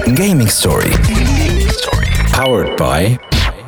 Gaming Story. Powered by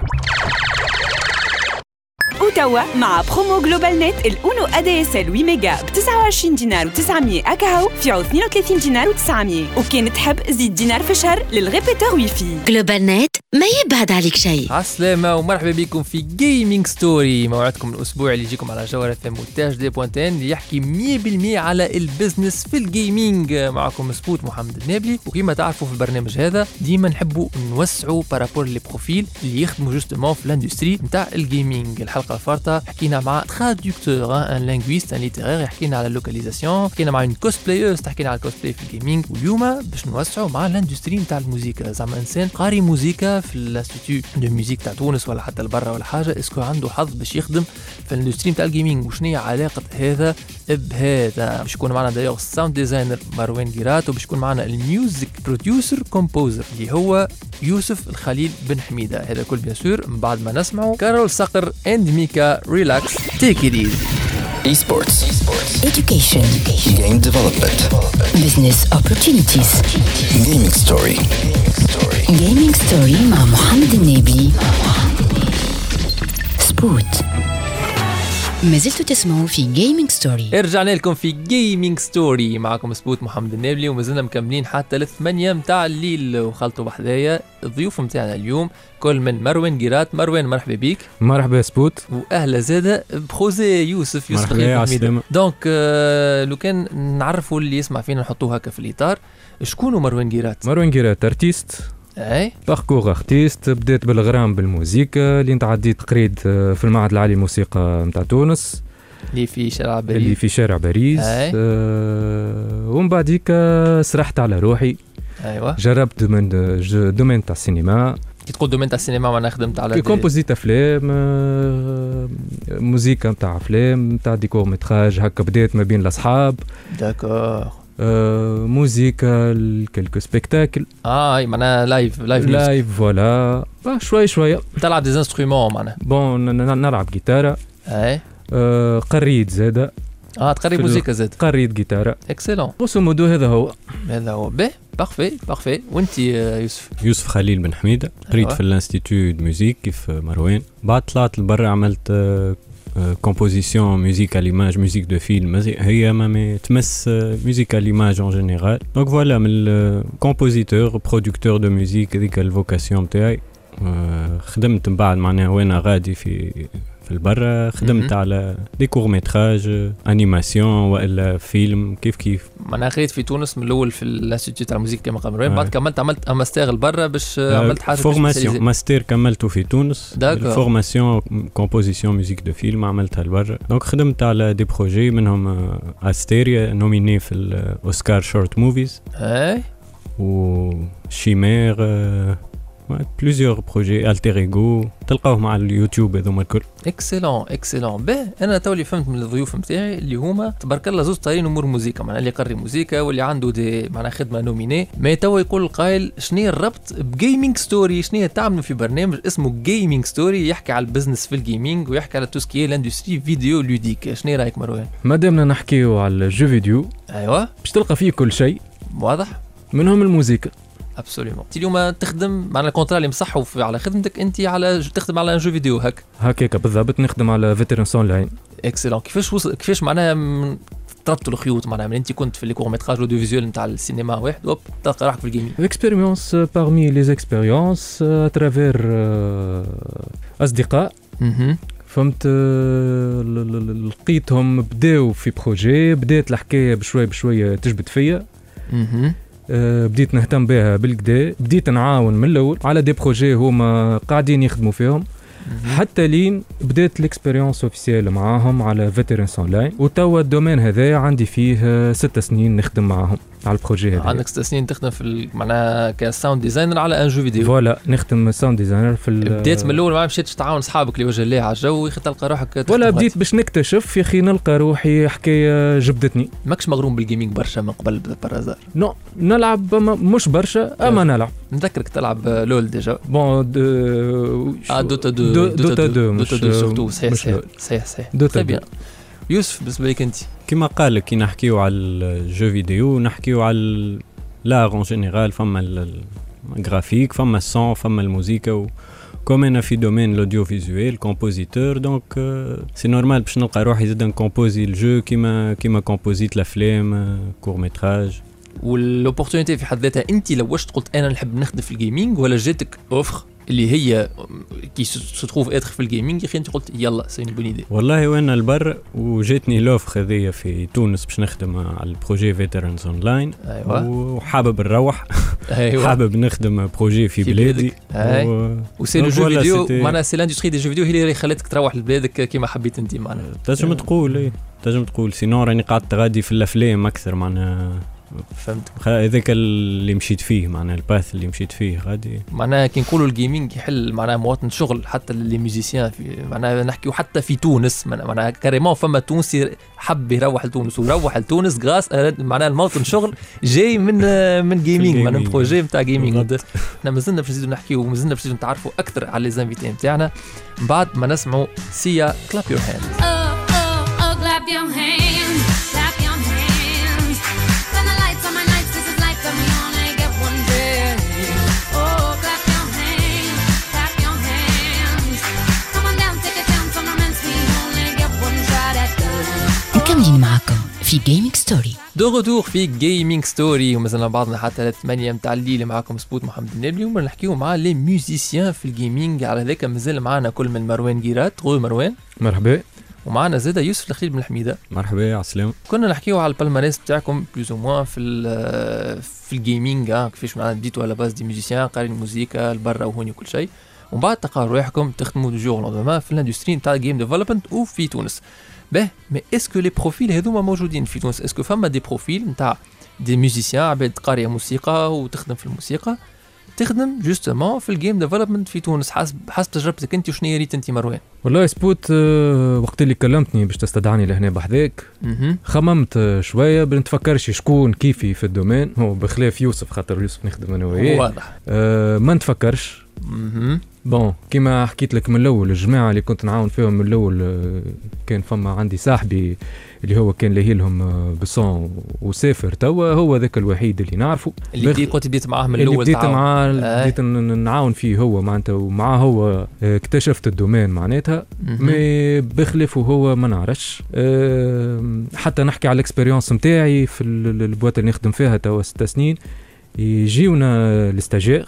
وتوا مع برومو جلوبال نت الأونو ADSL 8 ميجا ب 29 دينار و900 أكاهو في 32 دينار و900 وكان تحب زيد دينار في الشهر للغيبيتور ويفي. جلوبال نت ما يبعد عليك شيء. عسلامة ومرحبا بكم في جيمنج ستوري، موعدكم الأسبوع اللي يجيكم على جوهرة مونتاج دي بوانتين اللي يحكي 100% على البزنس في الجيمنج. معكم سبوت محمد النابلي، وكما تعرفوا في البرنامج هذا ديما نحبوا نوسعوا بارابور لي بروفيل اللي يخدموا جوستومون في الاندستري نتاع الجيمنج. الحلقة الفارطة حكينا مع ترادكتور ان لينغويست ان ليترير، حكينا على اللوكاليزاسيون، حكينا مع كوسبلايرز تحكينا على الكوسبلاي في الجيمنج. واليوم باش نوسعوا مع الاندستري نتاع الموسيقى، زعما انسان قاري موسيقى في الانستيتيو دو ميوزيك تاع تونس ولا حتى لبرا ولا حاجه، اسكو عنده حظ باش يخدم في الاندستري نتاع الجيمنج، وشنو هي علاقه هذا بهذا. باش يكون معنا دايوغ الساوند ديزاينر مروان جيرات، وباش يكون معنا الميوزك بروديوسر كومبوزر اللي هو يوسف الخليل بن حميده. هذا كل بيان سور من بعد ما نسمعوا كارول صقر اند ميكا ريلاكس تيك ات ايزي. Esports. Education. Game development. Business opportunities. Gaming Story. Gaming Story مع محمد النبي. سبوت. ما زلتوا تسمعوا في جيمنج ستوري. رجعنا لكم في جيمنج ستوري، معكم سبوت محمد النابلي، ومازلنا مكملين حتى 8 متاع الليل. وخلطوا بحذايا الضيوف متاعنا اليوم كل من مروان جيرات. مروان مرحبا بيك. مرحبا سبوت. واهلا زاده بخوزي يوسف مرحبا حميدة. دونك لو كان نعرفوا اللي يسمع فينا نحطوه هكا في الاطار، شكونه مروان جيرات؟ مروان جيرات ارتيست، اي باركور ارتيست. بديت بالغرام بالموسيقى اللي تعديت تقريد في المعهد العالي للموسيقى نتاع تونس اللي في شارع باريس. ومن بعديك سرحت على روحي. ايوه جربت دومين تاع السينما. كي تقول دومين تاع السينما معناها خدمت على كومبوزيت افلام، موسيقى نتاع افلام نتاع ديكور متراج هكا. بديت ما بين الاصحاب. داكور. موسيقى كلكو سبيكتاكل. معناها لايف فوالا. شويه تلعب دي انسترومون معناها. بون نلعب جيتارة. اي قريت زاده. تقري موسيقى زاد. قريت جيتارة. اكسلون. بصوا مودو هذا هو به بارفي. وانت يوسف خليل بن حميدة، قريت في الانستيتيو دو ميوزيك كيف مروان. بعد طلعت لبرا عملت كومبوزيسيون ميوزيك ليماج، ميوزيك دو فيلم، هي ما تمس ميوزيك ليماج ان جينيرال. دونك فوالا من الكومبوزيتور برودكتور دو ميوزيك، هذيك الفوكاسيون تاعي. خدمت من بعد معناها وانا غادي في البرا، خدمت على دي كور ميتراج، انيماسيون والا فيلم كيف انا خريت في تونس من الاول في الانستيتيو تاع الموسيقى كما قال مروان. بعد كملت عملت ماستر لبرا باش عملت حاجه فورماسيون ماستر كملته في تونس. فورماسيون كومبوزيسيون ميوزيك دو فيلم عملتها لبرا. دونك خدمت على دي بروجي منهم استيريا نوميني في الاوسكار شورت موفيز. وشيمير بليزيور بروجي التر ايغو تلقاوه مع اليوتيوب هذوما الكل. اكسلون. به انا تولي فهمت من الضيوف نتاعي اللي هما تبارك الله زوز طايرين امور موسيقى، معناها اللي يقري موسيقى واللي عنده دي معناها خدمه نوميني. ما توا يقول القائل شنو هي الربط بجيمنج ستوري؟ شنو هي تعملوا في برنامج اسمه جيمنج ستوري يحكي على البزنس في الجيمنج ويحكي على توسكي لاندستري فيديو لوديك؟ شنو رايك مروان؟ مادامنا نحكيو على الجو فيديو، ايوه باش تلقى فيه كل شيء واضح منهم الموسيقى. ابسوليومون. انت اليوم تخدم معنا الكونترا اللي مصحوا على خدمتك، انت على تخدم على جو فيديو هكاك بالضبط. نخدم على فيترانس اون لاين. اكسلون. كيفاش معناها تربطوا الخيوط معناها من انت كنت في لي كور ميتراج ودو فيزيوال نتاع السينما واحد وب تلقى روحك في الجيمنج؟ اكسبيريونس بارمي لي اكسبيريونس اترافير اصدقاء. فهمت. لقيتهم بداو في بروجي، بدات الحكايه بشويه تجبد فيا. بديت نهتم بها بالكدا، بديت نعاون من الاول على دي بروجي هما قاعدين يخدموا فيهم حتى لين بدات الاكسبيريونس اوفيسيال معاهم على فيترانس اون لاين. وتوا الدومين هذا عندي فيه 6 سنين نخدم معاهم على البروجي هذا. عندك 6 سنين تخدم في معناها كساوند ديزاينر على ان جو فيديو. فوالا نخدم ساوند ديزاينر في بديت من الاول ما مشيتش تعاون اصحابك لوجه الله على الجو يا اخي تلقى روحك ولا بديت باش نكتشف يا اخي نلقى روحي حكايه جبدتني. ماكش مغروم بالجيمنج برشا من قبل بالازار؟ نو نلعب مش برشا اما نلعب. نذكرك تلعب لول ديجا. بون دوتا 2 سورتو. صحيح دوتا بيان. يوسف بالنسبه لك انت كما قال لك كي نحكيو على الجو فيديو نحكيو على لار اون جينيرال، فما graphique, فما الصون فما الموسيقى comme انا في دومين الاوديو فيزوال كومبوزيتور دونك سي نورمال باش نلقى روحي زاد نكومبوزي الجو كيما كومبوزيت الافلام كور ميتراج. والاوبورتونيتي في حد ذاتها انت لو واش قلت انا نحب نخدم في الجيمنج ولا جاتك اوفر اللي هي كي ستروف اتر في الجيمنج اخي انت قلت يلا سي بون ايدي؟ والله وانا البر وجاتني لوفر هذيا في تونس باش نخدم على البروجي فيترانز اونلاين. أيوة. وحابب نروح. أيوة. حابب نخدم بروجي في بلادي وسي لو جو فيديو معناها سي لاندستري دي جو فيديو هي اللي خلاتك تروح لبلادك كيما حبيت انت معناها تنجم تقول سينو راني قعدت غادي في الافلام اكثر معناها فهمت هذاك اللي مشيت فيه معناها الباث اللي مشيت فيه غادي معناها كي نقولوا الجيمنج يحل معناها مواطن شغل حتى اللي ميوزيسيان في معناها نحكيو حتى في تونس معناها كاريمون فما تونسي حب يروح لتونس ويروح لتونس غاس معناها الموطن شغل جاي من جيمنج معناها بروجي نتاع جيمنج. احنا مازلنا باش نزيدوا نحكيو ومازلنا باش نتعرفوا اكثر على لي زانفيتي نتاعنا بعد ما نسمعوا سيا كلاب يور هاند. Clap your hands, clap your hands. Turn the lights on my nights, this is life, but we only get one day. Oh, clap your hands, clap your hands. Come on down, take a chance on romance, we only get one shot at love. مكملين معكم في جيمنج ستوري. دو غدور في جيمنج ستوري ومازلنا بعضنا حتى 8 متاع الليل معكم سبوت محمد النبلي ونحكيو مع لي ميوزيسيان في الجيمنج. على ذاك مازال معنا كل من مروان جيرات. غو مروان مرحبا. ومعنا زاده يوسف الخليل بن الحميده. مرحبا على السلامه. كنا نحكيو على البالماريس بتاعكم بلوز او موان في الجيمنج كيفاش معناها بديتوا على باز دي ميوزيسيان قارين موسيقى البرا وهوني كل شيء ومن بعد تلقاو روحكم تخدموا دو جور لوندومان في الاندستري نتاع الجيم ديفلوبمنت وفي تونس. مي اسكو لي بروفيل هذوما موجودين في تونس؟ اسكو فما دي بروفيل نتاع دي ميوزيسيان عباد قاريه موسيقى وتخدم في الموسيقى تخدم جوستومون في الجيم ديفلوبمنت في تونس حسب تجربتك انت وشنو ريت انت مروان؟ والله سبوت وقت اللي كلمتني باش تستدعاني لهنا بحذاك خممت شويه بنتفكرش شكون كيفي في الدومين هو بخلاف يوسف خاطر يوسف نخدم انا وياه واضح. ما نتفكرش بون كيما حكيت لك من الاول الجماعه اللي كنت نعاون فيهم من الاول كان فما عندي صاحبي اللي هو كان لاهي لهم بصون وسافر توا هو ذاك الوحيد اللي نعرفه اللي كنت بديت معاه من الاول بديت معاه بديت نعاون فيه هو معناتها ومعاه هو اكتشفت الدومين معناتها مي بخلافه هو ما نعرفش حتى نحكي على الاكسبيريونس نتاعي في البوات اللي نخدم فيها توا 6 سنين يجيونا الاستاجير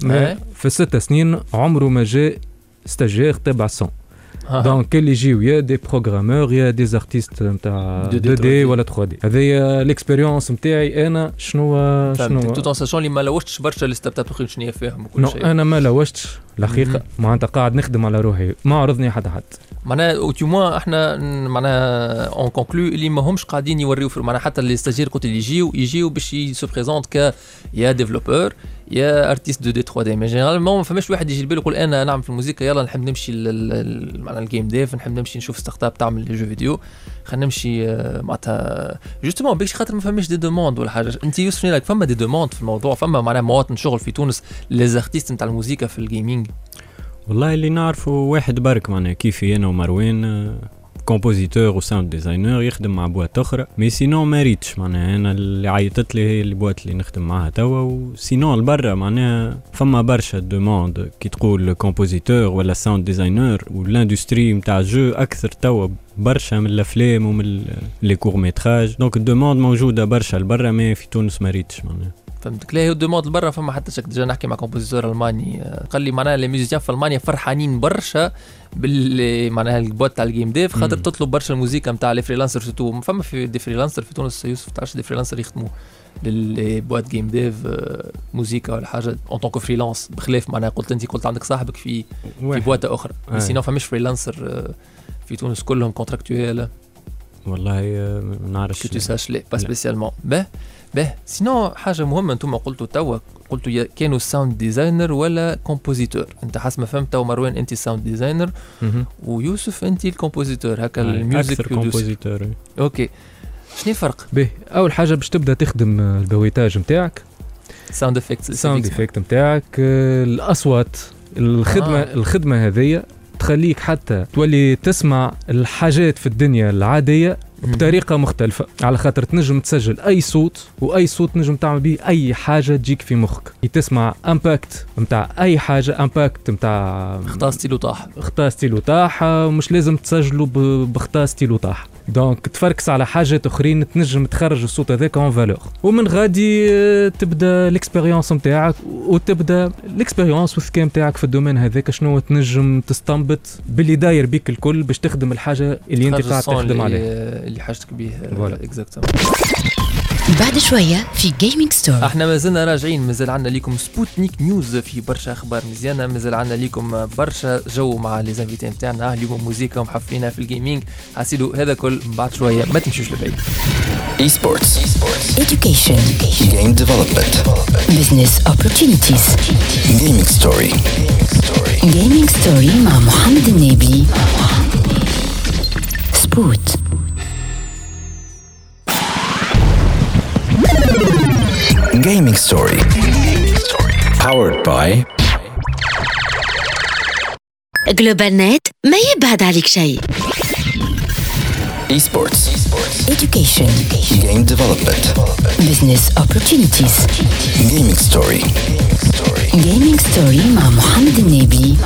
في 6 سنين عمره ما جاء استاجير تبع الصون دونك اللي يجيو يا دي بروغرامور يا دي زارتيست نتاع 2 دي ولا 3 دي. هذه الاكسبيريونس نتاعي انا شنو تو ان ساشون اللي ما لوجتش برشا لي ستارت اب اخرين شنو فيهم وكل شيء. انا ما لوجتش الحقيقه معناتها قاعد نخدم على روحي ما عرضني حد معناها اوتوموا احنا معناها اون كونكلو اللي ما همش قاعدين يوريو في معناها حتى لي ستاجير قلت اللي يجيو باش يسو بريزونت ك يا ديفلوبور يا ارتيست 2 دي 3 دي مي جينيرالمون ما فماش واحد يجي لباله يقول انا نعمل في الموسيقى يلا نحب نمشي معناها الجيم ديف نحب نمشي نشوف ستارت اب تعمل لي جو فيديو خلينا نمشي معناتها جوستومون باش خاطر ما فماش دي دوموند ولا حاجه. انت يوسف لك فما دي دوموند في الموضوع فما معناها مواطن شغل في تونس لي زارتيست نتاع الموسيقى في الجيمنج؟ والله اللي نعرفه واحد برك معناها كيفي انا ومروان كومبوزيتور وساوند ديزاينر يخدم مع بوات اخرى مي سينون ما ريتش معناها انا اللي عيطت لي هي البوات اللي نخدم معها توا وسينون البرا معناها فما برشا دوموند كي تقول كومبوزيتور ولا ساوند ديزاينر والاندستري نتاع جو اكثر توا برشا من الافلام ومن لي كور ميتراج دونك الدوموند موجوده برشا البرا ما في تونس ما ريتش معناها فهمتك. لا هو دوموند برا فما حتى شك ديجا نحكي مع كومبوزيتور الماني قال لي معناها لي ميوزيسيان في المانيا فرحانين برشا بال معناها البوات تاع الجيم ديف خاطر تطلب برشا الموسيقى نتاع لي فريلانسر سورتو فما في دي فريلانسر في تونس يوسف تعرفش دي فريلانسر يخدموا للبوات جيم ديف موسيقى ولا حاجه اون طونك فريلانس بخلاف معناها قلت عندك صاحبك في بوات اخرى سينو فماش فريلانسر في تونس كلهم كونتراكتويل والله ما نعرفش كنت ساش لي با سبيسيالمون به سينو حاجه مهمه انتم قلتوا كانوا ساوند ديزاينر ولا كومبوزيتور انت حسب ما فهمت تو مروان انت ساوند ديزاينر ويوسف انت الكومبوزيتور هكا الميوزك كومبوزيتور اوكي شنو الفرق؟ به اول حاجه باش تبدا تخدم البويتاج نتاعك ساوند افكت نتاعك الاصوات الخدمه هذه تخليك حتى تولي تسمع الحاجات في الدنيا العاديه بطريقه مختلفه، على خاطر تنجم تسجل اي صوت، واي صوت تنجم تعمل به اي حاجه تجيك في مخك. تسمع امباكت نتاع اي حاجه، امباكت نتاع اختار ستيلو طاح، اختار ستيلو طاح، مش لازم تسجله باختار ستيلو طاح. دونك تفركس على حاجات اخرين تنجم تخرج الصوت هذاك اون فالور، ومن غادي تبدا الاكسبيريونس نتاعك، وتبدا الاكسبيريونس والذكاء نتاعك في الدومين هذاك شنو تنجم تستنبط باللي داير بيك الكل باش تخدم الحاجه اللي انت قاعد تخدم عليها، اللي حاجتك به. اكزاكتومون. بعد شوية في جيمنج ستوري احنا مازلنا راجعين، مازال عندنا ليكم سبوتنيك نيوز في برشا اخبار مزيانه، مازال عندنا ليكم برشا جو مع لي زانفيتي نتاعنا اليوم، موسيقى ومحفلينها في الجيمنج. حاسيلو هذا كل بعد شويه، ما تمشوش لبعيد. Esports. education Game development. business opportunities Gaming story. gaming story مع محمد النبي سبوت. Gaming story. Powered by جلوبال نت ما يبعد عليك شيء. Esports. education Game development. business opportunities Gaming story. gaming story مع محمد النبي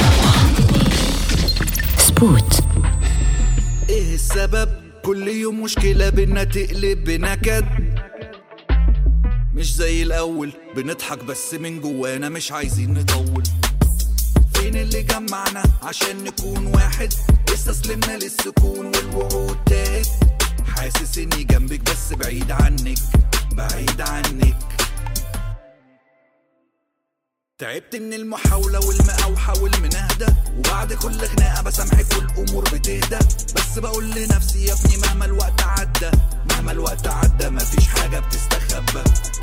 سبوت. ايه السبب؟ كل يوم مشكلة بينا تقلب بنكد، مش زي الأول بنضحك بس من جوانا مش عايزين نطول. فين اللي جمعنا عشان نكون واحد؟ استسلمنا للسكون والوعود تاهت. حاسس اني جنبك بس بعيد عنك، بعيد عنك. تعبت من المحاولة والمقاوحة والمناهدة، وبعد كل خناقة بسامحك والأمور بتهدى. بس بقول لنفسي يا ابني مهما الوقت عدى، مهما الوقت عدى مفيش حاجة بتستخبى.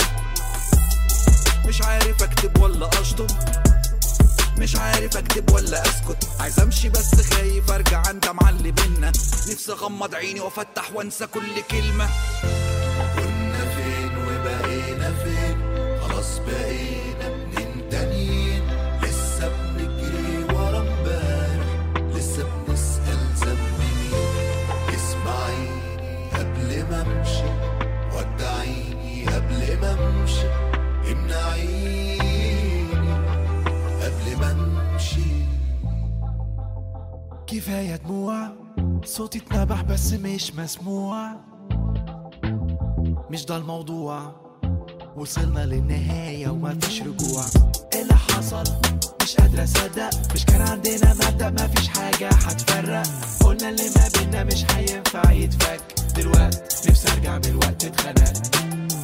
مش عارف اكتب ولا اشطب، مش عارف اكتب ولا اسكت. عايز امشي بس خايف ارجع اندم على اللي بينا. نفسي اغمض عيني وافتح وانسى كل كلمة. كنا فين وبقينا فين؟ خلاص بقينا اتنين تانيين. لسه بنجري ورا امبارح، لسه بنسأل ذنب مين. اسمعيني قبل ما امشي، ودعيني قبل ما امشي. امنعيني قبل ما امشي. كفاية دموع، صوتي اتنبح بس مش مسموع. مش ده الموضوع، وصلنا للنهاية وما فيش رجوع. ايه اللي حصل؟ مش قادرة اصدق. مش كان عندنا مبدأ ما فيش حاجة هتفرق. قلنا اللي ما بينا مش هينفع يتفك. دلوقتي نفسي ارجع بالوقت اتخنقت.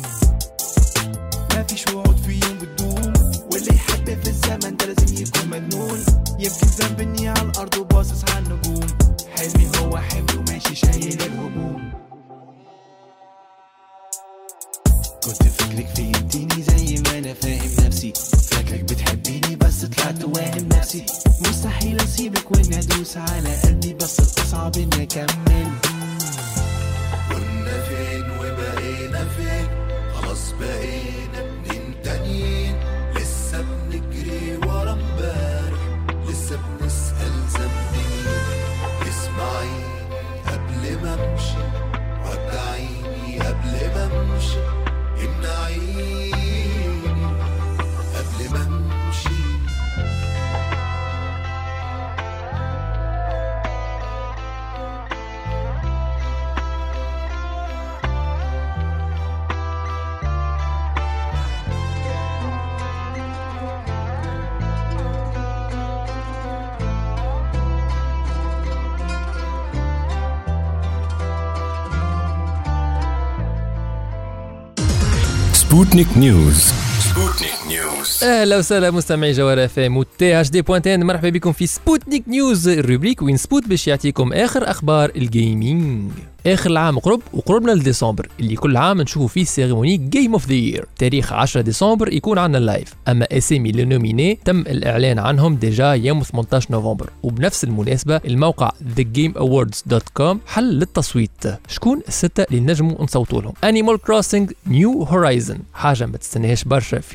ما فيش وعود في يوم بتدوم، واللي يحب في الزمن ده لازم يكون مجنون. يمكن ذنب اني على الارض وباصص على النجوم. حلمي هو حملي وماشي شايل الهموم. كنت فاكرك فهمتيني زي ما انا فاهم نفسي. فاكرك بتحبيني بس طلعت واهم نفسي. مستحيل اسيبك واني ادوس على قلبي، بس الاصعب اني اكمل. كنا فين وبقينا فين؟ خلاص بقينا اتنين تانيين. لسه بنجري ورا امبارح، لسه بنسأل ذنب مين. اسمعيني قبل ما امشي، ودعيني قبل ما امشي. امنعيني قبل ما امشي. Sputnik News. اهلا وسهلا مستمعي جوهر اف ام وتي اش دي بوينتين. مرحبا بكم في سبوتنيك نيوز، الروبريك وين سبوت باش يعطيكم اخر اخبار الجيمنج. اخر العام قرب وقربنا لديسمبر اللي كل عام نشوفوا فيه سيريموني جيم اوف ذا يير. تاريخ 10 ديسمبر يكون عندنا اللايف، اما اسامي لي نوميني تم الاعلان عنهم ديجا يوم 18 نوفمبر. وبنفس المناسبه الموقع thegameawards.com حل للتصويت شكون السته اللي نجموا نصوتوا لهم. Animal Crossing New Horizon حاجه ما تستناهاش برشا في ليسته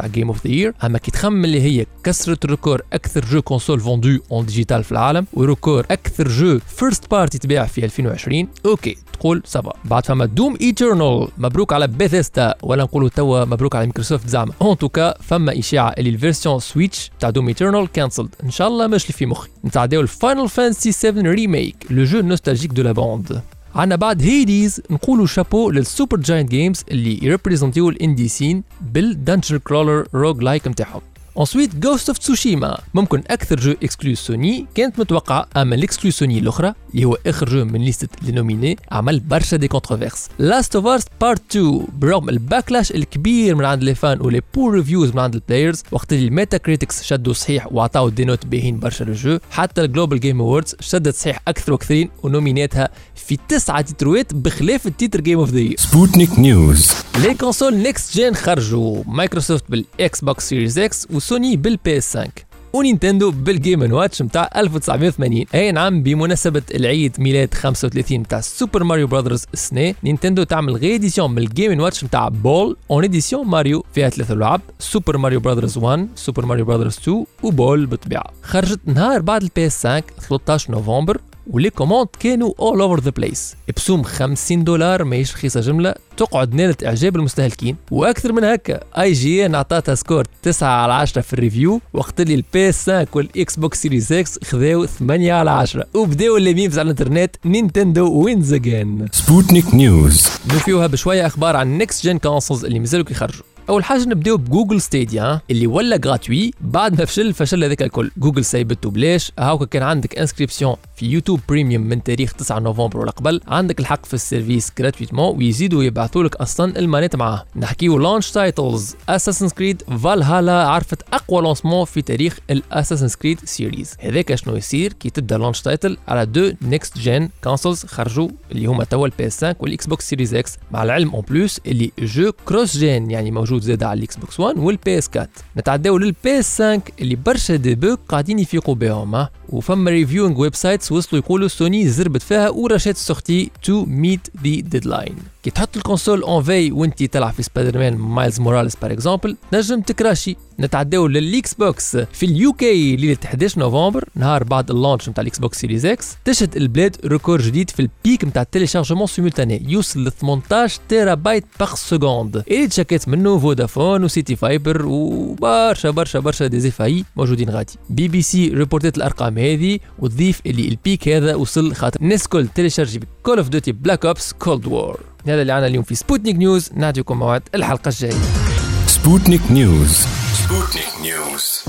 نتاع جيم اوف ذا يير. اما كي تخمم اللي هي كسرت ريكور اكثر جو كونسول فوندو اون ديجيتال في العالم وريكور اكثر جو فيرست بارتي تباع في 2020، اوكي تقول سافا. بعد فما دوم ايترنال، مبروك على بيثيستا، ولا نقولوا توا مبروك على مايكروسوفت زعما. اون توكا فما اشاعه اللي الفيرسيون سويتش تاع دوم ايترنال كانسلد، ان شاء الله مش اللي في مخي. نتعداو الفاينل فانتسي 7 ريميك، لو جو نوستالجيك دو لا باند. عنا بعد هيديز نقولوا شابو للسوبر جاينت جيمز اللي يريبريزنتيو الاندي سين بالدنجن كرولر روج لايك نتاعهم. Ensuite Ghost of Tsushima، ممكن أكثر جو إكسكلوز سوني كانت متوقعة، أما الإكسكلوز سوني الأخرى اللي هو آخر جو من ليستة لنوميني عمل برشا دي كونتروفيرس. Last of Us Part 2 برغم الباكلاش الكبير من عند لي فان ولي بور ريفيوز من عند البلايرز، وقت اللي الميتا كريتكس شدوا صحيح وعطاو دي نوت باهين برشا للجو، حتى الجلوبال جيم اووردز شدت صحيح أكثر وأكثرين ونوميناتها في 9 تيتروات بخلاف التيتر جيم اوف ذا يير. سبوتنيك نيوز. لي كونسول نيكست جين خرجوا، مايكروسوفت بالاكس بوكس سيريز اكس وسوني بالبي اس 5 ونينتندو بالجيم واتش متاع 1980. اي نعم، بمناسبة العيد ميلاد 35 متاع سوبر ماريو براذرز السنة، نينتندو تعمل غيديسيون من الجيم واتش متاع بول اون اديسيون ماريو فيها 3 لعب، سوبر ماريو براذرز 1، سوبر ماريو براذرز 2 وبول بالطبيعة. خرجت نهار بعد البي اس 5 13 نوفمبر، ولي كوموند كانوا all over the place بسوم $50 ماهيش رخيصة جملة، تقعد نالت إعجاب المستهلكين. وأكثر من هكا اي جي ان عطاتها سكور 9/10 في الريفيو، وقت اللي البي اس 5 والاكس بوكس سيريز اكس خذاو 8/10. وبداو اللي ميمز على الانترنت نينتندو وينز اجين. سبوتنيك نيوز. نوفيوها بشوية أخبار عن نيكست جين كونسولز اللي مازالوا كيخرجوا. اول حاجه نبداو بجوجل ستيديا اللي ولا غراتوي بعد ما فشل هذاك الكل. جوجل سايبته بلاش، هاوكا كان عندك انسكريبسيون في يوتيوب بريميوم من تاريخ 9 نوفمبر ولا قبل، عندك الحق في السيرفيس غراتويتمون ويزيدوا يبعثوا لك اصلا المانيت معاه. نحكيو لونش تايتلز، اساسن كريد فالهالا عرفت اقوى لونسمون في تاريخ الاساسن كريد سيريز. هذاك شنو يصير كي تبدا لونش تايتل على دو نيكست جين كونسولز خرجوا اللي هما توا البي اس 5 والاكس بوكس سيريز اكس، مع العلم اون بلوس اللي جو كروس جين يعني موجود زاد على الاكس بوكس 1 والبي اس 4. نتعداو للبي اس 5 اللي برشا ديبوك قاعدين يفيقوا بهم، وفما ريفيوينغ ويب سايتس وصلوا يقولوا سوني زربت فيها ورشات السورتي تو ميت ذا ديدلاين. كي تحط الكونسول اون في وانتي تلعب في سبايدر مان مايلز موراليس بار اكزومبل تنجم تكراشي. نتعداو للاكس بوكس في اليو كي ليله 11 نوفمبر نهار بعد اللونش نتاع الاكس بوكس سيريز اكس، تشهد البلاد ريكور جديد في البيك نتاع التيليشارجمون سيمولتاني يوصل ل 18 تيرا بايت باغ سكوند، اللي تشكت منه فودافون وسيتي فايبر وبرشا برشا برشا ديزيفاي موجودين غادي. بي بي سي ريبورتات الارقام هذه وتضيف اللي البيك هذا وصل خاطر الناس كل تيليشارجي كول اوف ديوتي بلاك اوبس كولد وور. هذا اللي عنا اليوم في سبوتنيك نيوز، نعطيكم موعد الحلقه الجايه. سبوتنيك نيوز. سبوتنيك نيوز.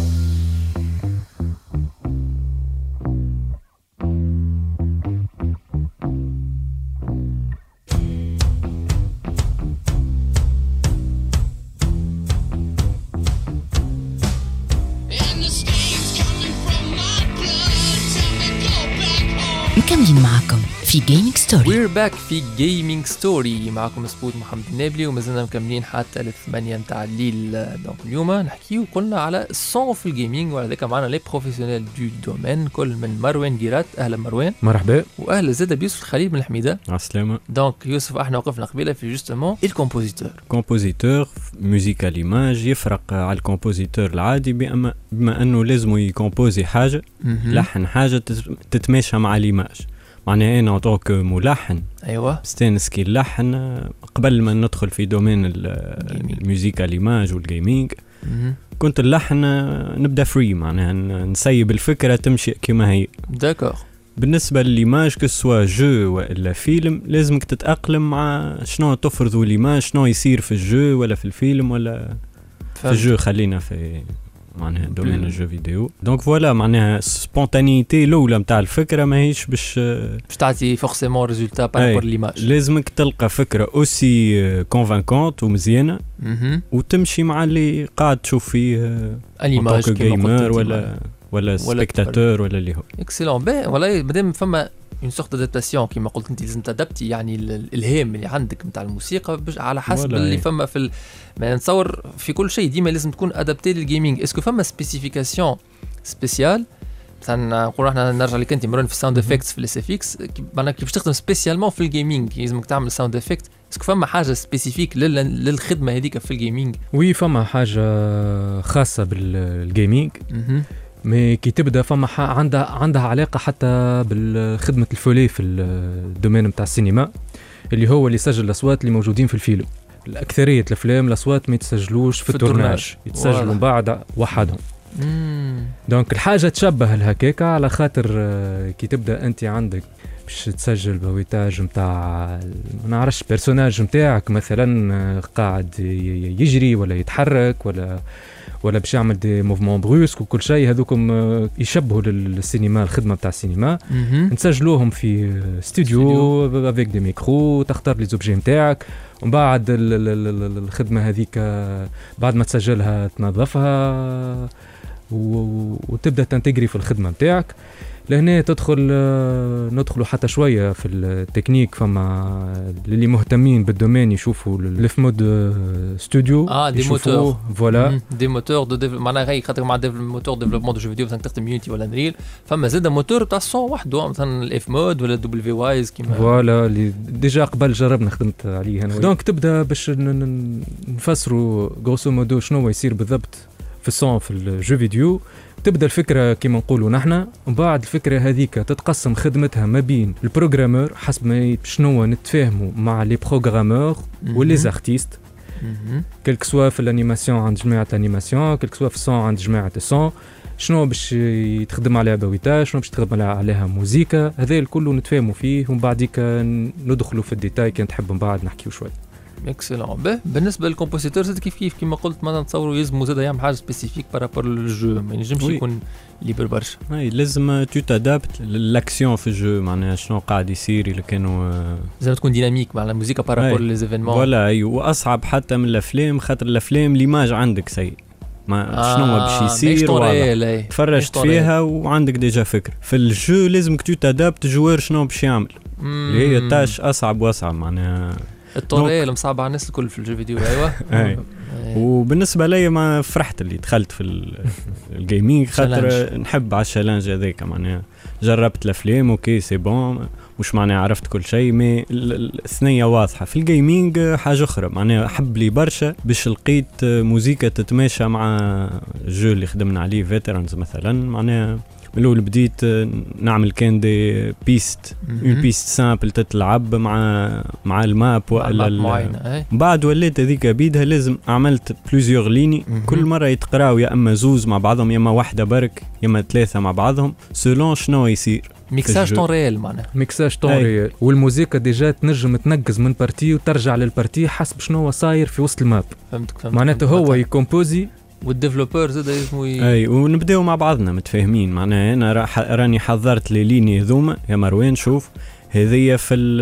مكملين معكم في جيمنج ستوري. وير باك في جيمنج ستوري، معكم سبوت محمد النابلي ومازلنا مكملين حتى ل8 نتاع الليل. دونك اليوم نحكيو قلنا على الصون في الجيمنج، وهذاك معنا لي بروفيسيونيل دو دومين كل من مروان جيرات. اهلا مروان. مرحبا. واهلا زاد بيوسف الخليل من الحميده. عسلامة. دونك يوسف احنا وقفنا قبيله في جوستومون كومبوزيتور موسيقى ليماج. يفرق على الكومبوزيتور العادي بما انه لازم يكومبوزي حاجه لحن حاجه تتماشى مع ليماج. معناها انا طوك ملحن ايوه استانس كي اللحن قبل ما ندخل في دومين الموسيقى ليماج والجيمنج. كنت اللحن نبدا فري، معناها نسيب الفكره تمشي كما هي. داكور. بالنسبه لليماج كسوا جو ولا فيلم لازمك تتاقلم مع شنو تفرضوا ليماج، شنو يصير في الجو ولا في الفيلم ولا في الجو. خلينا في معناها دومين الجو فيديو. دونك فوالا معناها سبونتانيتي الاولى نتاع الفكره ماهيش باش تعطي فورسيمون ريزولتا بارابور ليماج. لازمك تلقى فكره اوسي كونفانكونت ومزيانه وتمشي مع اللي قاعد تشوف فيه اليماج جيمر ولا سبيكتاتور ولا اللي هو اكسلون. باهي والله مادام فما اون سورت ادابتاسيون كيما قلت انت لازم تادبتي يعني الالهام اللي عندك نتاع الموسيقى على حسب اللي فما في ما نتصور في كل شيء ديما لازم تكون ادابتي للجيمنج. اسكو فما سبيسيفيكاسيون سبيسيال مثلا نقول احنا نرجع لك انت مرون في الساوند افكتس في الاس اف اكس، معناها كيف تخدم سبيسيالمون في الجيمنج لازمك تعمل ساوند افكت اسكو فما حاجه سبيسيفيك للخدمه هذيك في الجيمنج؟ وي فما حاجه خاصه بالجيمنج، مي كي تبدا فما عندها علاقه حتى بالخدمه الفولي في الدومين نتاع السينما، اللي هو اللي يسجل الاصوات اللي موجودين في الفيلم. الاكثريه الافلام الاصوات ما يتسجلوش في التورناج، يتسجلوا من بعد وحدهم. دونك الحاجه تشبه الهكاكه، على خاطر كي تبدا انت عندك باش تسجل بويتاج نتاع ما نعرفش بيرسوناج نتاعك مثلا قاعد يجري ولا يتحرك ولا باش يعمل دي موفمون بروسك وكل شيء، هذوكم يشبهوا للسينما، الخدمه نتاع السينما. نسجلوهم في استوديو افيك دي ميكرو، تختار لي زوبجي نتاعك، ومن بعد الخدمه هذيك بعد ما تسجلها تنظفها وتبدا تنتجري في الخدمه نتاعك. لهنا ندخلوا حتى شويه في التكنيك. فما اللي مهتمين بالدومين يشوفوا الف مود ستوديو، دي موتور فوالا دي موتور معناها غير خاطر مع موتور ديفلوبمون دو جو فيديو مثلا تخدم يونيتي ولا انريل، فما زاد موتور تاع الصون وحده مثلا الاف مود ولا دبليو وايز كيما فوالا اللي ديجا قبل جربنا خدمت عليه انا. دونك تبدا باش نفسروا غروسو مودو شنو يصير بالضبط في الصون في الجو فيديو. تبدا الفكره كما نقولوا نحن، ومن بعد الفكره هذيك تتقسم خدمتها ما بين البروغرامور حسب ما شنو نتفاهموا مع لي بروغرامور ولي زارتيست، كلك سوا في الانيماسيون عند جماعه الانيماسيون، كلك سوا في الصون عند جماعه الصون، شنو باش يتخدم عليها بويتاج، شنو باش تخدم عليها موسيقى، هذا الكل نتفاهموا فيه، ومن بعديك ندخلوا في الديتاي كان تحب من بعد نحكيو شوي. اكسلون. بالنسبه للكومبوزيتور زاد كيف كما قلت ما نتصوروا يلزموا زاد يعمل حاجه سبيسيفيك بارابور للجو، ما ينجمش يكون ليبر برشا. لازم تو تادابت للاكسيون في الجو، معناها شنو قاعد يصير اللي كانوا لازم تكون ديناميك مع الموسيقى بارابور ليزيفينمون. ولا واصعب حتى من الافلام، خاطر الافلام ليماج عندك سيء، ما شنو باش يصير تفرجت فيها وعندك ديجا فكره. في الجو لازمك تو تادابت جوار شنو باش يعمل، اللي هي تاش اصعب واصعب معناها الطوريل مصعب على الناس الكل في الجو فيديو. ايوه وبالنسبه لي ما فرحت اللي دخلت في الجيمنج، خاطر نحب على الشالنج هذاك، معناها جربت الافلام اوكي سي بون، مش معناها عرفت كل شيء، مي الثنيه واضحه. في الجيمنج حاجه اخرى، معناها حب لي برشا باش لقيت موسيقى تتماشى مع الجو اللي خدمنا عليه فيترانز مثلا. معناها من الاول بديت نعمل كان دي بيست اون بيست سامبل تتلعب مع الماب ولا بعد وليت هذيك بيدها لازم عملت بلوزيور ليني، كل مره يتقراو يا اما زوز مع بعضهم يا اما واحده برك يا اما ثلاثه مع بعضهم سولون شنو يصير. ميكساج طون ريال، معناها ميكساج طون ريال، والموسيقى ديجا تنجم تنقز من بارتي وترجع للبارتي حسب شنو صاير في وسط الماب. فهمتك. معناته هو يكومبوزي والديفلوبر زاد لازم اي ونبداو مع بعضنا متفاهمين. معناها انا راني حضرت لي ليني هذوما يا مروان، شوف هذيا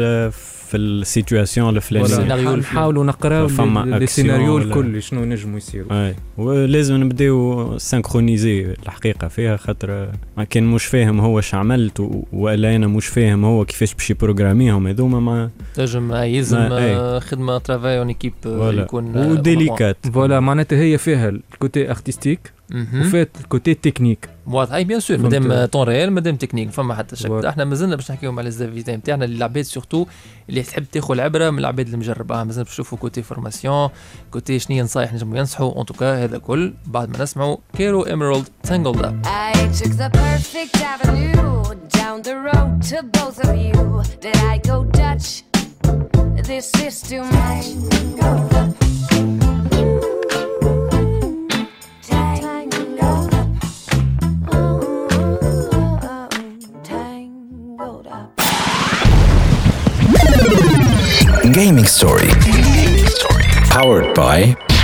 في السيتواسيون الفلانيه نحاولوا نقراو السيناريو الكل شنو نجموا يصيروا. اي ولازم نبداو سانكرونيزي الحقيقه فيها، خاطر ما كان مش فاهم هو اش عملت ولا انا مش فاهم هو كيفاش باش يبروغراميهم هذوما، ما تنجم يلزم خدمه ترافاي اون ايكيب يكون وديليكات. فوالا معناتها هي فيها الكوتي ارتستيك وفات الكوتي تكنيك واضح. اي بيان سور مادام طون ريال مادام تكنيك فما حتى شك. احنا مازلنا باش نحكيو على الزافيتين نتاعنا العباد سورتو اللي تحب تاخذ العبره من العباد اللي مجربها. مازلنا باش نشوفوا كوتي فورماسيون، كوتي شنو نصايح نجموا ينصحوا. ان توكا هذا كل بعد ما نسمعوا كيرو إيميرالد تانجلد اب. I took the perfect avenue down the road to both of you. Did I go Dutch? This is too much. Gaming Story. Powered by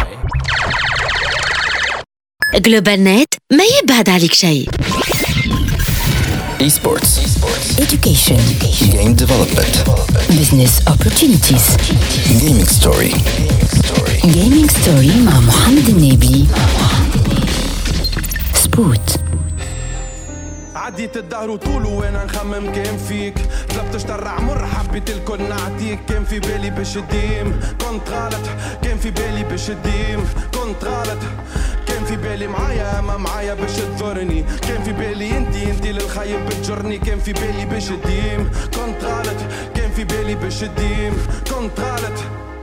جلوبال نت ما يبعد عليك شيء. Esports. Education. Game development. Business opportunities. Gaming Story. Gaming Story مع محمد النبي. سبوت. عديت الدهر وطوله وانا نخمم كان فيك، طلبت اشترع مر حبيت الكل نعطيك. كان في بالي باش الديم كنت غلط، كان في بالي باش الديم كنت غلط، كان كان في بالي معايا ما معايا باش تضرني، كان في بالي انتي للخايب بتجرني، كان في بالي باش تديم كنت غلط، كان في بالي باش تديم كنت غلط.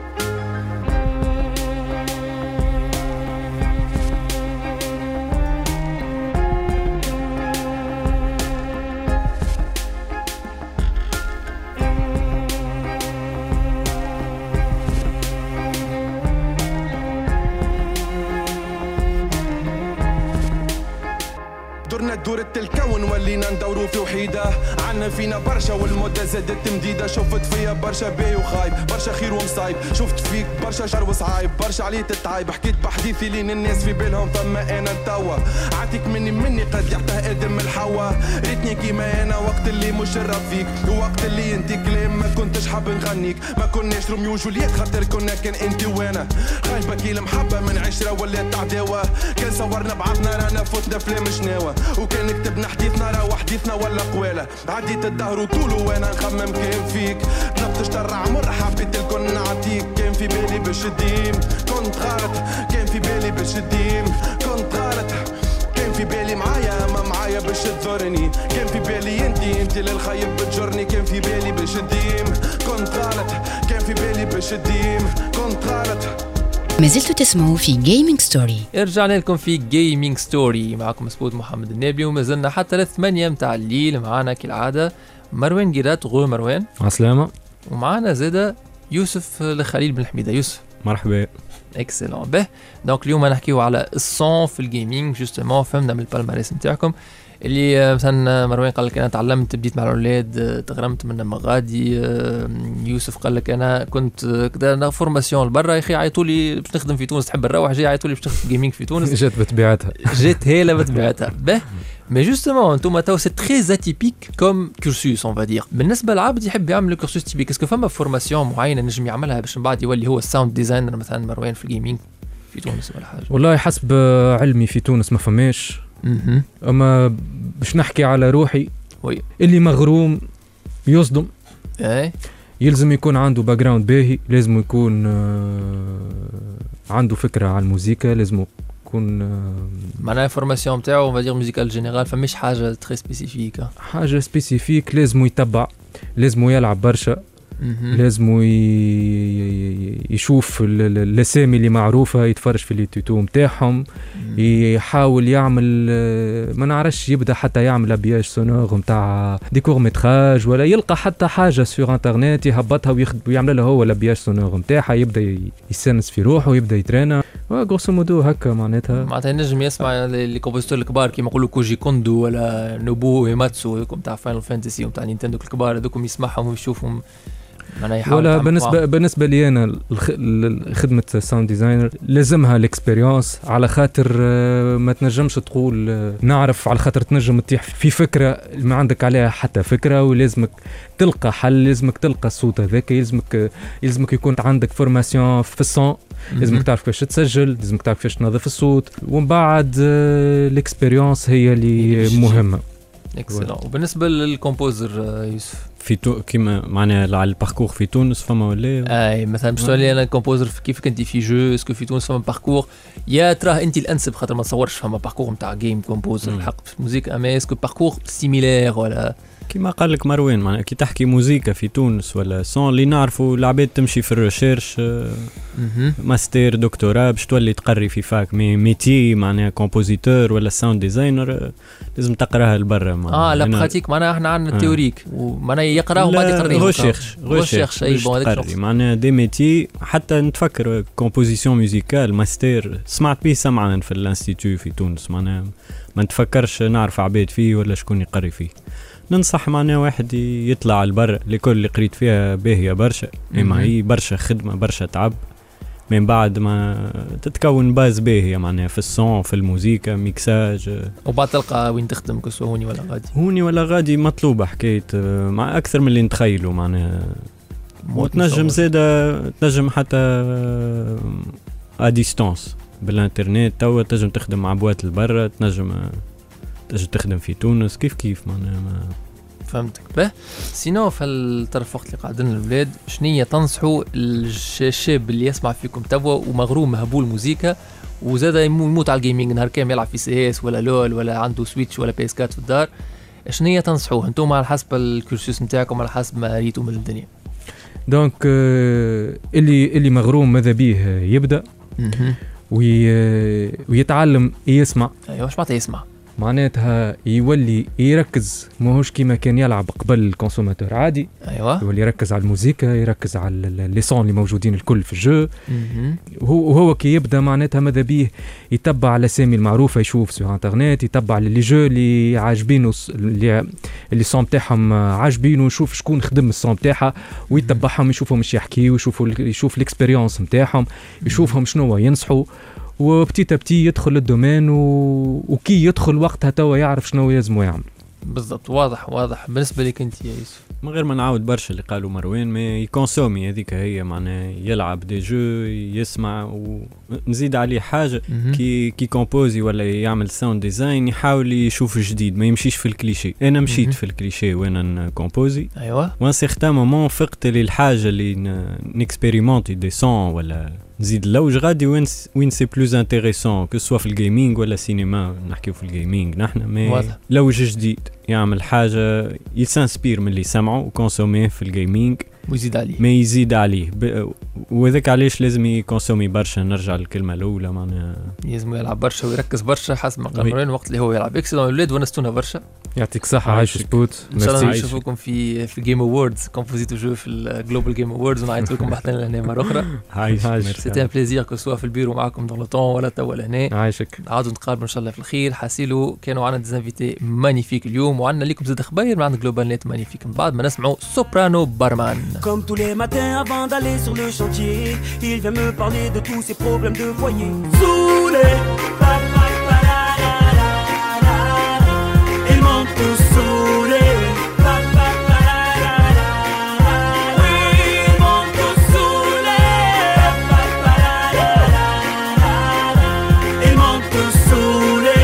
درنا دورة الكون ولينا ندورو في وحيدة، عنا فينا برشا والمدة زادت مديدة، شفت فيا برشا باي وخايب برشا خير ومصايب، شفت فيك برشا شر وصعايب برشا عليه تتعايب، حكيت بحديثي لين الناس في بالهم فما انا توا، عاتيك مني قد يعطى ادم الحوا، ريتني كيما انا وقت اللي مشرف فيك، ووقت اللي انت كلام ما كنتش حاب نغنيك، ما كناش روميو وجولييت خاطر كنا كان انت وانا، خايبة كي المحبة من عشرة ولات عداوة، كان صورنا بعضنا رانا فتنا فلام شناوة، وكان كتبنا حديثنا راه حديثنا ولا قوالة، عديت الدهر وطوله وانا نخمم كان فيك، طلبت شطر عمر حبيت الكل نعطيك، كان في بالي باش تديم كنت غلط، كان في بالي باش تديم كنت غلط، كان في بالي معايا ما معايا باش تضرني، كان في بالي انتي للخايب بتجرني، كان في بالي باش تديم كنت غلط، كان في بالي باش تديم كنت غلط. ما زلتوا تسمعوا في جيمنج ستوري. رجعنا لكم في جيمنج ستوري، معكم سبوت محمد النابلي، وما زلنا حتى 8 متاع الليل. معنا كالعادة مروان قيرات. غو مروان عسلامة. ومعنا زادة يوسف الخليل بن حميدة. يوسف مرحبا. اكسلون. به دونك اليوم نحكيو على الصون في الجيمنج جوستومون. فهمنا من البالماريس نتاعكم اللي مثلا مروان قال لك انا تعلمت بديت مع الاولاد تغرمت من مغادي. يوسف قال لك انا كنت كذا فورماسيون لبرا، يا اخي عيطوا لي باش نخدم في تونس، تحب نروح جاي عيطوا لي باش تخدم جيمنج في تونس. جات بتبيعتها. جات هيلا بتبيعتها. به مي جوستومون انتم تو سي تري اتيبيك كوم كورسوس اون فادير. بالنسبه للعبد يحب يعمل كورسوس تيبيك، اسكو فما فورماسيون معينه نجم يعملها باش من بعد يولي هو الساوند ديزاينر مثلا مروان في الجيمنج في تونس ولا حاجه؟ والله حسب علمي في تونس ما فماش. اما باش نحكي على روحي وي اللي مغروم يصدم. اي يلزم يكون عنده باك جراوند باهي، لازم يكون عنده فكره على الموسيقى، لازم يكون معناها فورماسيون نتاعو فادير ميوزيكال جينيرال، فماش حاجه تري سبيسيفيك. حاجه سبيسيفيك لازم يتبع، لازم يلعب برشا، لازم يشوف الاسامي اللي معروفه، يتفرج في اليوتيوب نتاعهم، يحاول يعمل ما نعرفش يبدا حتى يعمل ابياج سونور نتاع ديكور متراج، ولا يلقى حتى حاجه سور انترنت يهبطها ويعمل لها هو الابياج سونور نتاعها، يبدا يسنس في روحه ويبدا يترينا غروسو مودو هكا. معناتها نجم يسمع لي كومبوزيتور الكبار كيما يقولوا كوجي كوندو ولا نوبو ايماتسو نتاع فاينل فانتسي ونتاع نينتندو الكبار هذوكم، يسمعهم ويشوفهم. ولا بالنسبه لي انا خدمه ساوند ديزاينر لازمها الاكسبيرينس، على خاطر ما تنجمش تقول نعرف، على خاطر تنجم تطيح في فكره ما عندك عليها حتى فكره، ولازمك تلقى حل، لازمك تلقى الصوت هذاك، يلزمك يكون عندك فورماسيون في الصون، لازمك تعرف كيفاش تسجل، لازمك تعرف كيفاش تنظف الصوت، ومن بعد الاكسبيرينس هي اللي مهمه. اكسلون. وبالنسبه للكومبوزر يوسف كيما معناها على الباركور في تونس فما ولا اي مثلا باش تولي انا كومبوزر كيف انت في جو، اسكو في تونس فما باركور يا تراه انت الانسب، خاطر ما تصورش فما باركور نتاع جيم كومبوزر الحق في الموسيقى، اما اسكو باركور سيميلير ولا كيما قال لك مروان، معناها كي تحكي موسيقى في تونس ولا سون اللي نعرفوا العباد تمشي في الريشيرش ماستر دكتوراه باش تولي تقري في فاك ميتي معناها كومبوزيتور ولا ساوند ديزاينر لازم تقراها لبرا. لا براتيك معناها احنا عندنا التيوريك ومعناها يقرا وبعد يقرا غوشيرش اي بون هذاك معناها دي ميتي. حتى نتفكر كومبوزيسيون ميوزيكال ماستر سمعت به سمعا في الانستيتو في تونس، معناها ما نتفكرش نعرف عباد فيه ولا شكون يقري فيه. ننصح معنا واحد يطلع على البر، لكل اللي قريت فيها باهية برشا، اما هي برشا خدمة برشا تعب، من بعد ما تتكون باز باهية معناها في الصون في الموسيقى ميكساج، وبعد تلقى وين تخدم كسو هوني ولا غادي. هوني ولا غادي مطلوبة حكاية مع أكثر من اللي نتخيلوا معناها. وتنجم زادة تنجم حتى أديستانس بالانترنت، توا تنجم تخدم مع بوات البرة، تنجم تخدم في تونس كيف معناها. فهمتك. به سينو في الطرف وقت اللي قاعدين الأولاد شنية تنصحوا الشاب اللي يسمع فيكم توا ومغروم مهبول موسيقى وزاد يموت على الجيمنج نهار كامل يلعب في سي اس ولا لول ولا عنده سويتش ولا بيس 4 في الدار، شنو هي تنصحوه انتم على حسب الكورسوس نتاعكم على حسب ما ريتوا من الدنيا؟ دونك اللي مغروم ماذا بيه يبدا ويتعلم يسمع. ايوه واش معناتها يسمع؟ معناتها يولي يركز ماهوش كيما كان يلعب قبل الكونسوماتور عادي. ايوه يولي يركز على الموسيقى، يركز على اللي صون اللي موجودين الكل في الجو. وهو كي يبدا معناتها ماذا بيه يتبع على الاسامي المعروفه، يشوف سو انترنت، يتبع لي جو اللي عاجبينه اللي صون تاعهم عاجبينه، يشوف شكون خدم الصون تاعها ويتبعهم، يشوفهم مش يحكيوا، يشوف الاكسبيريونس نتاعهم، يشوفهم شنو ينصحوا، وبتيتا بتي يدخل الدومين وكي يدخل وقتها توا يعرف شنو يلزمه يعمل. بالضبط. واضح. بالنسبه لك انت يا يوسف؟ من غير ما نعاود برشا اللي قالوا مروان، ما يكونسومي هذيك هي معناها يلعب دي جو، يسمع، ونزيد عليه حاجه كي كومبوزي ولا يعمل ساوند ديزاين يحاول يشوف جديد، ما يمشيش في الكليشيه. انا مشيت في الكليشيه وانا نكومبوزي. ايوه وان سيغتان مومون فقت للحاجه اللي نكسبيريمونتي دي سون ولا نزيد لوج غادي وين سي بلوز انتريسون كو سوا في الجيمنج ولا سينما. نحكيو في الجيمنج نحن، ما لوج جديد يعمل حاجه يسانسبير من اللي سمعه وكونسوميه في الجيمنج ويزيد عليه، ما يزيد عليه. وذاك علاش لازم يكونسومي برشا. نرجع للكلمه الاولى معناها لازم يلعب برشا ويركز برشا حسب ما قال وقت اللي هو يلعب. اكسلون الاولاد ونستونا برشا. يعطيك صحه. عايش سبوت. ان شاء الله نشوفكم في جيم اووردز كومبوزيتو جو في الجلوبال جيم اووردز، ونعيط لكم بحثنا لهنا مره اخرى. عايش. سيتي ان بليزير كو سوا في البيرو معكم دون لو طون ولا توا لهنا. عايشك. عاودوا نتقابلوا ان شاء الله في الخير. حاسيلو كانوا عندنا ديزانفيتي مانيفيك اليوم، وعندنا لكم زاد خباير من عند جلوبال نت مانيفيك. من بعد ما نسمعوا سوبرانو بارمان. Avant d'aller sur le chantier, il vient me parler de tous ses problèmes de foyer. Saoulé, il manque tout saoulé. Oui, il manque tout saoulé. Il manque tout saoulé.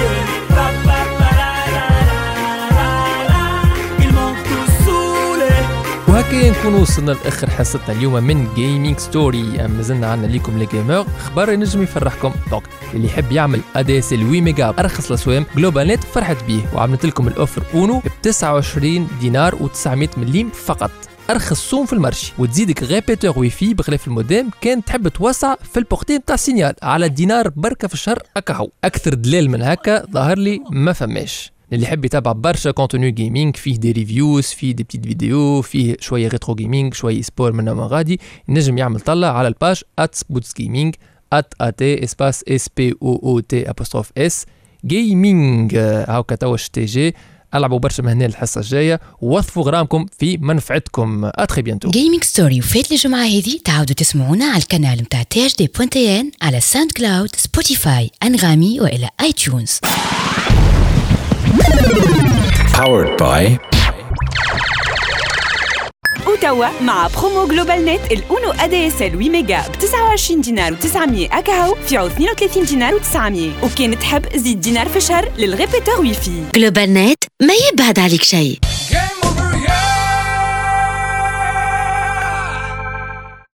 Il manque tout saoulé. وهكا نكون وصلنا لاخر حصتنا اليوم من جيمنج ستوري. اما زلنا عندنا ليكم لي جيمر خبر ينجم يفرحكم. دونك اللي يحب يعمل ADSL 8 ميجا ارخص الاسوام جلوبال نت فرحت بيه، وعملت لكم الاوفر اونو ب 29 دينار و900 مليم فقط، ارخص صوم في المارشي. وتزيدك غيبيتور واي في بخلاف المودام كان تحب توسع في البورتي نتاع السينيال على دينار بركه في الشهر. هكا اكثر دليل من هكا ظهر لي ما فماش. اللي يحب يتابع برشا كونتوني جيمنج، فيه دي ريفيوز، فيه دي بتيت فيديو، فيه شويه ريترو جيمنج، شويه سبور من ما غادي، نجم يعمل طلع على الباج @spotsgaming @SPOOT_S جيمنج. هاكا توا TG. العبوا برشا من هنا الحصه الجايه، ووظفوا غرامكم في منفعتكم. اتري بيانتو. جيمنج ستوري وفات الجمعه هذه تعاودوا تسمعونا على القناه نتاع THD.TN على ساوند كلاود، سبوتيفاي، انغامي والى اي تيونز. Powered by وتوا مع برومو جلوبال نت الأونو ADSL 8 ميجا ب 29 دينار و900 أكاهو في عوض 32 دينار و900. وكان تحب زيد دينار في الشهر للغيبيتور ويفي. جلوبال نت ما يبعد عليك شيء.